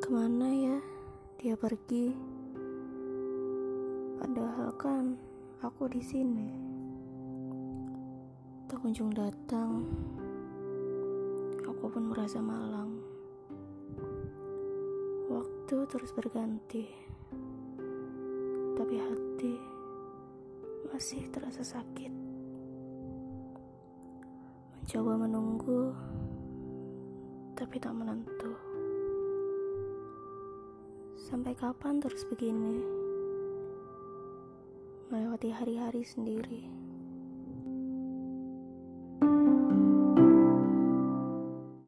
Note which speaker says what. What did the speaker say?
Speaker 1: Kemana ya dia pergi? Padahal kan aku di sini. Tak kunjung datang. Aku pun merasa malang. Waktu terus berganti, tapi hati masih terasa sakit. Mencoba menunggu, tapi tak menentu. Sampai kapan terus begini? Melewati hari-hari sendiri.